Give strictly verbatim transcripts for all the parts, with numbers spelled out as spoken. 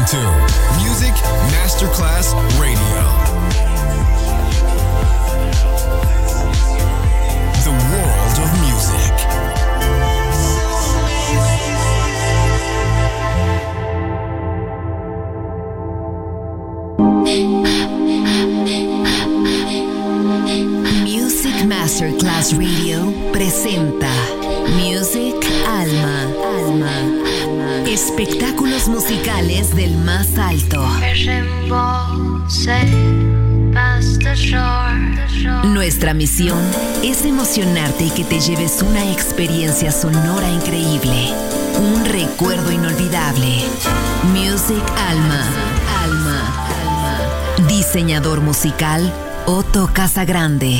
to Music Masterclass Radio. The world of music. Music Masterclass Radio presenta Music Alma. Alma. Espectáculos musicales del más alto. Nuestra misión es emocionarte y que te lleves una experiencia sonora increíble, un recuerdo inolvidable. Music Alma. Alma. Alma. Diseñador musical Otto Casagrande.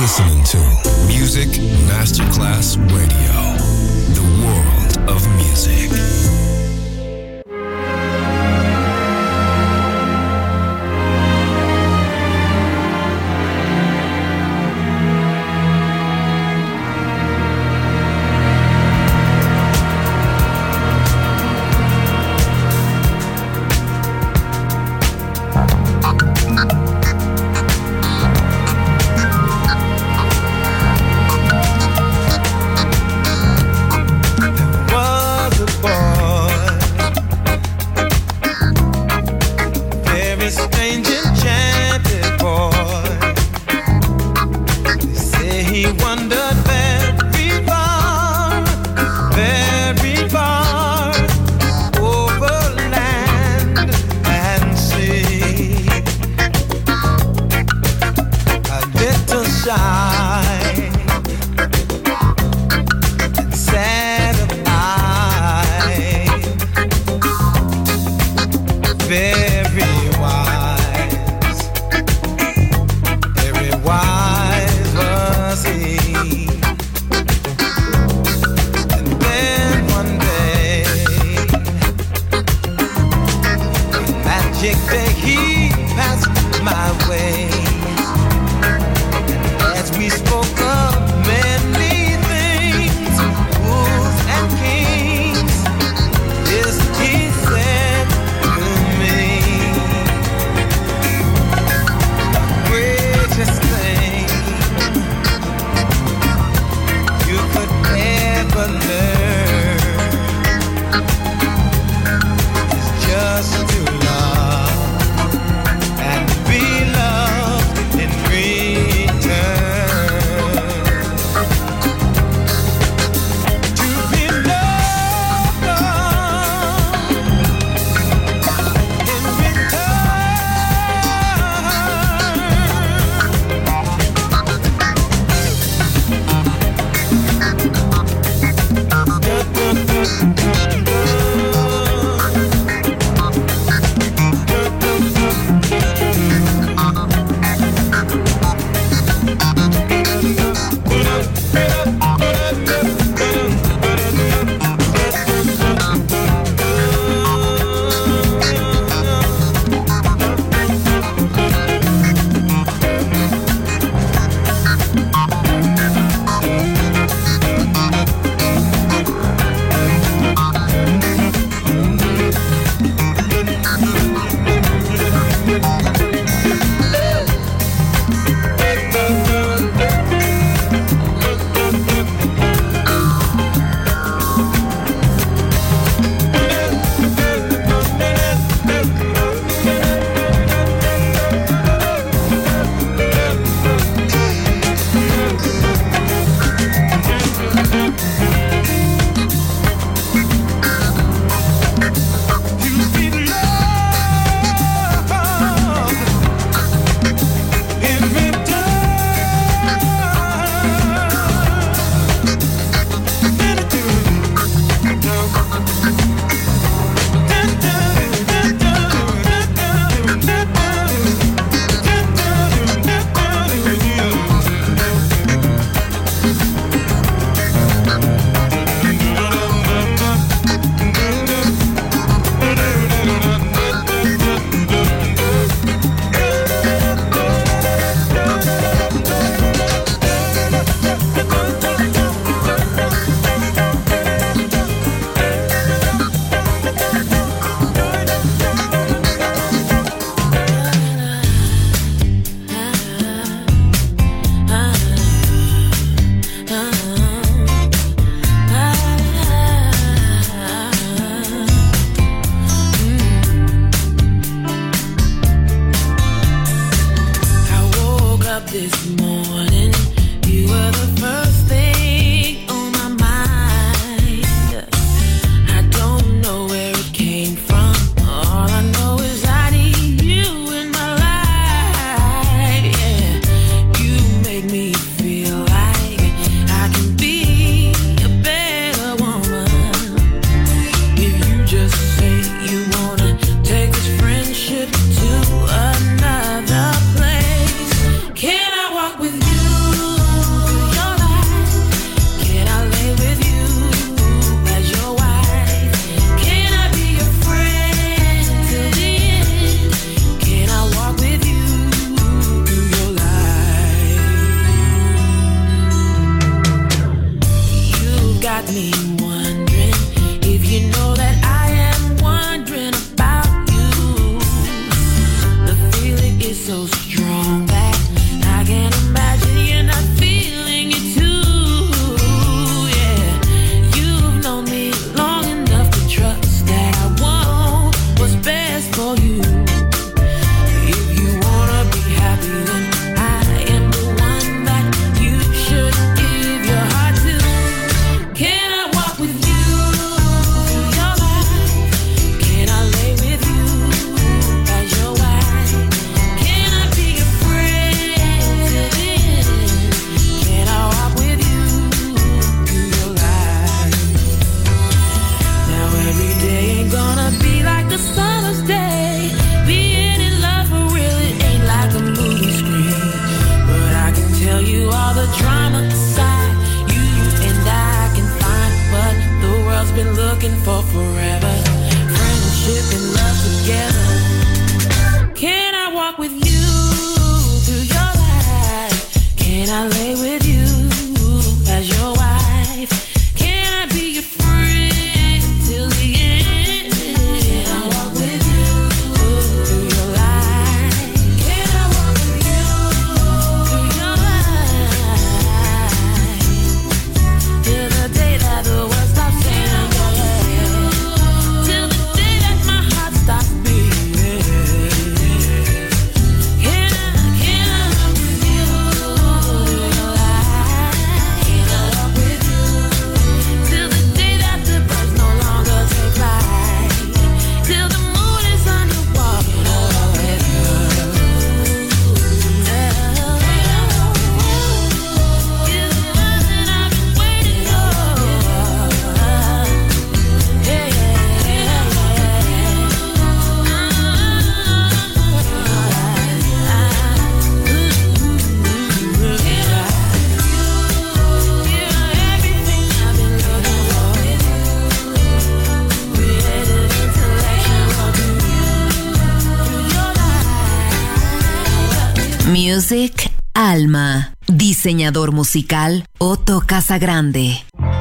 listening to Music Masterclass Radio, the world of music. Walk with so strong that I can't imagine you're not feeling it too. Yeah, you've known me long enough to trust that I want what's best for you. If you wanna be happy, then I am the one that you should give your heart to. Can I walk with you through your life? Can I lay with you as your wife? Can I be your friend till the end? Can I walk with you through your life? Now every day ain't gonna be like the summer's day. Being in love for real, it ain't like a movie screen. But I can tell you all the drama inside you and I can find what the world's been looking for forever. Friendship and love together. Can I walk with you through your life? Can I lay with you as your wife? Can I be your friend till the end? Can I walk with you through your life? Can I walk with you through your life? Till the day that the world stops saying yeah. Till the day that my heart stops beating. Can I, can I walk with you through your life? Can I walk with you till the day that the birds no longer take flight? Till the moon is underwater. Can I walk with you? Yeah. You're the one that I've been waiting for. Yeah, yeah, Music Alma. Diseñador musical Otto Casagrande.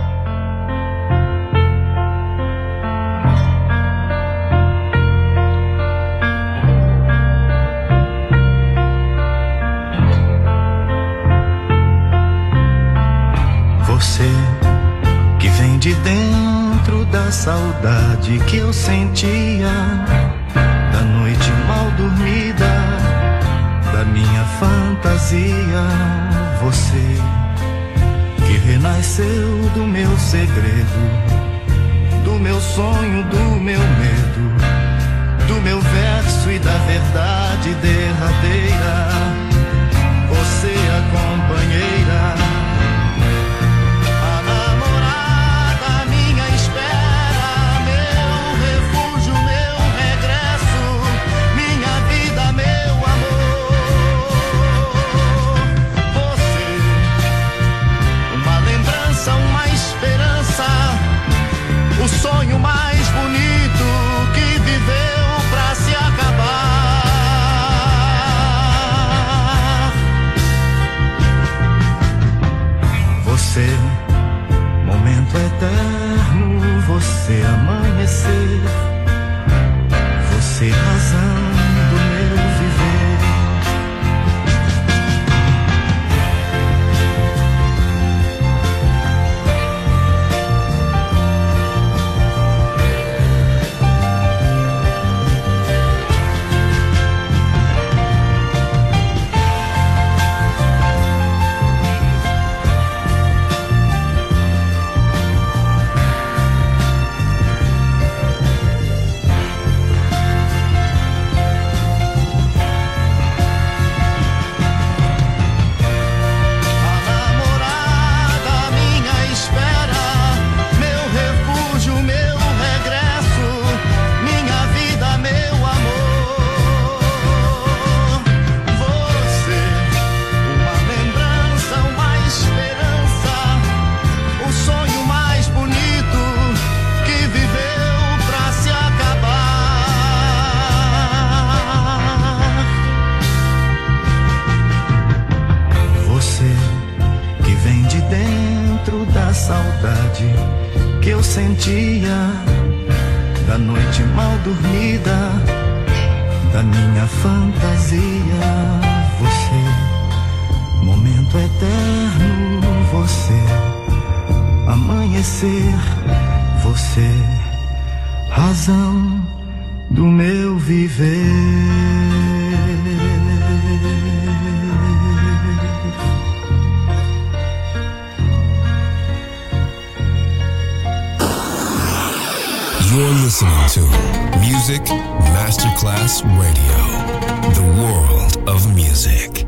Você que vem de dentro da saudade que eu sentia, da noite mal dormida, da minha fantasia. Você que renasceu do meu segredo, do meu sonho, do meu medo, do meu verso e da verdade derradeira. Você a companheira, o sonho mais bonito que viveu pra se acabar. Você, momento eterno, você amanhecer, você razão do meu viver. saudade que eu sentia da noite mal dormida, da minha fantasia. Você, momento eterno, você, amanhecer, você, razão do meu viver. You're listening to Music Masterclass Radio, the world of music.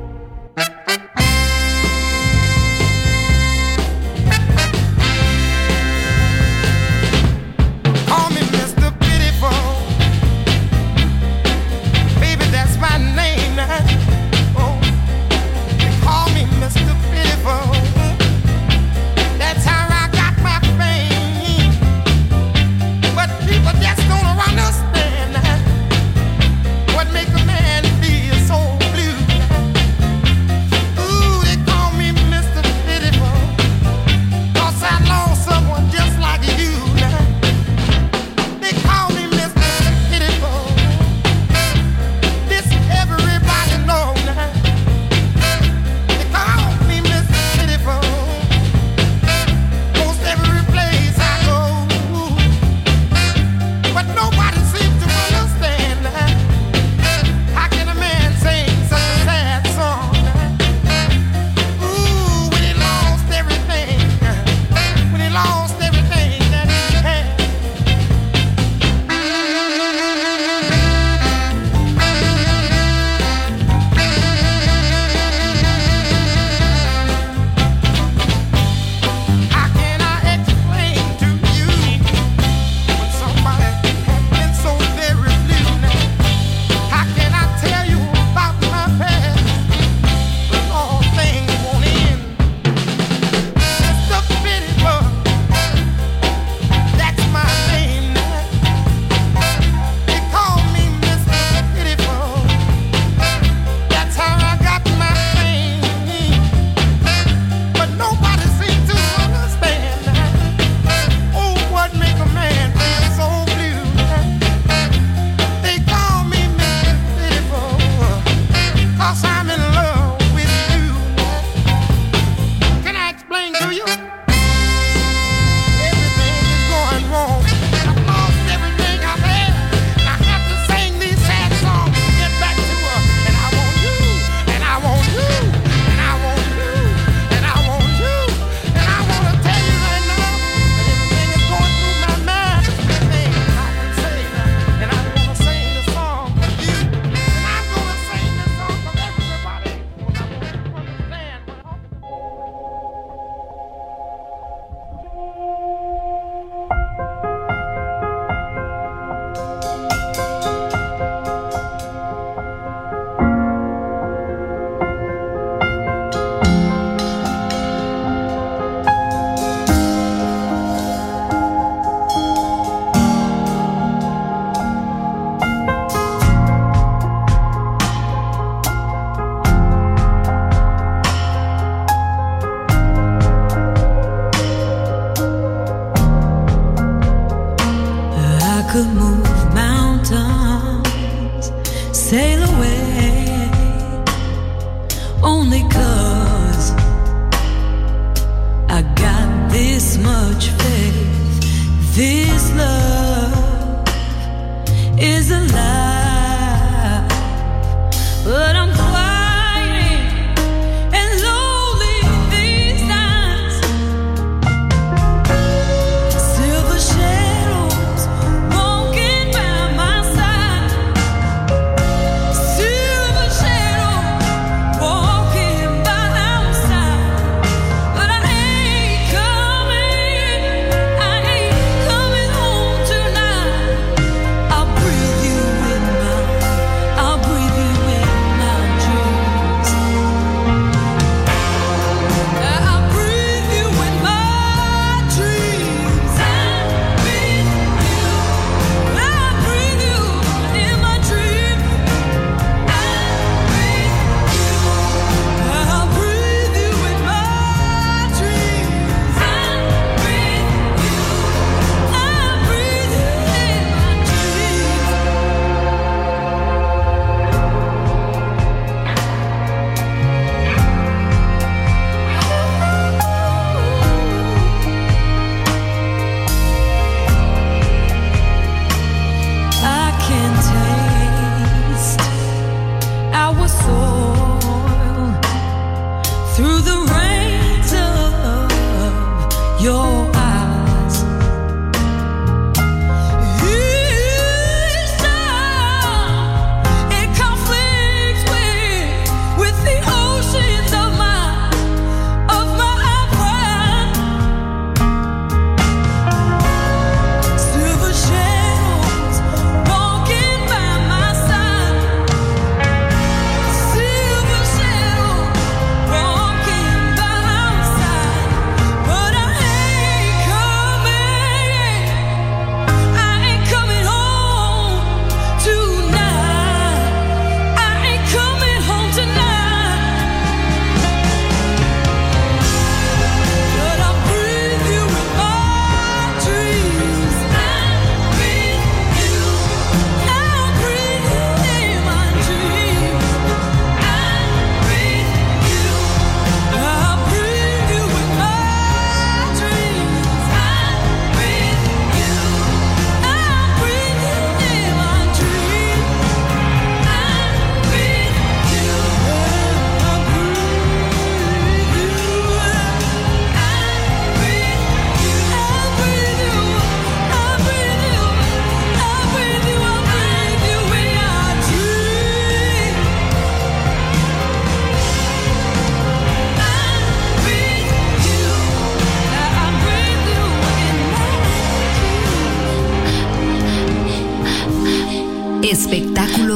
Call me Mister Pitiful, baby, that's my name now. Oh, they call me Mister Pitiful, that's how I got my fame. But people just don't understand what make a man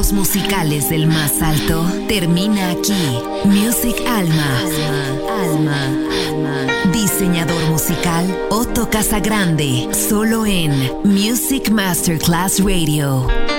éxitos musicales del más alto termina aquí. Music Alma. Alma. Alma. Diseñador musical Otto Casagrande. Solo en Music Masterclass Radio.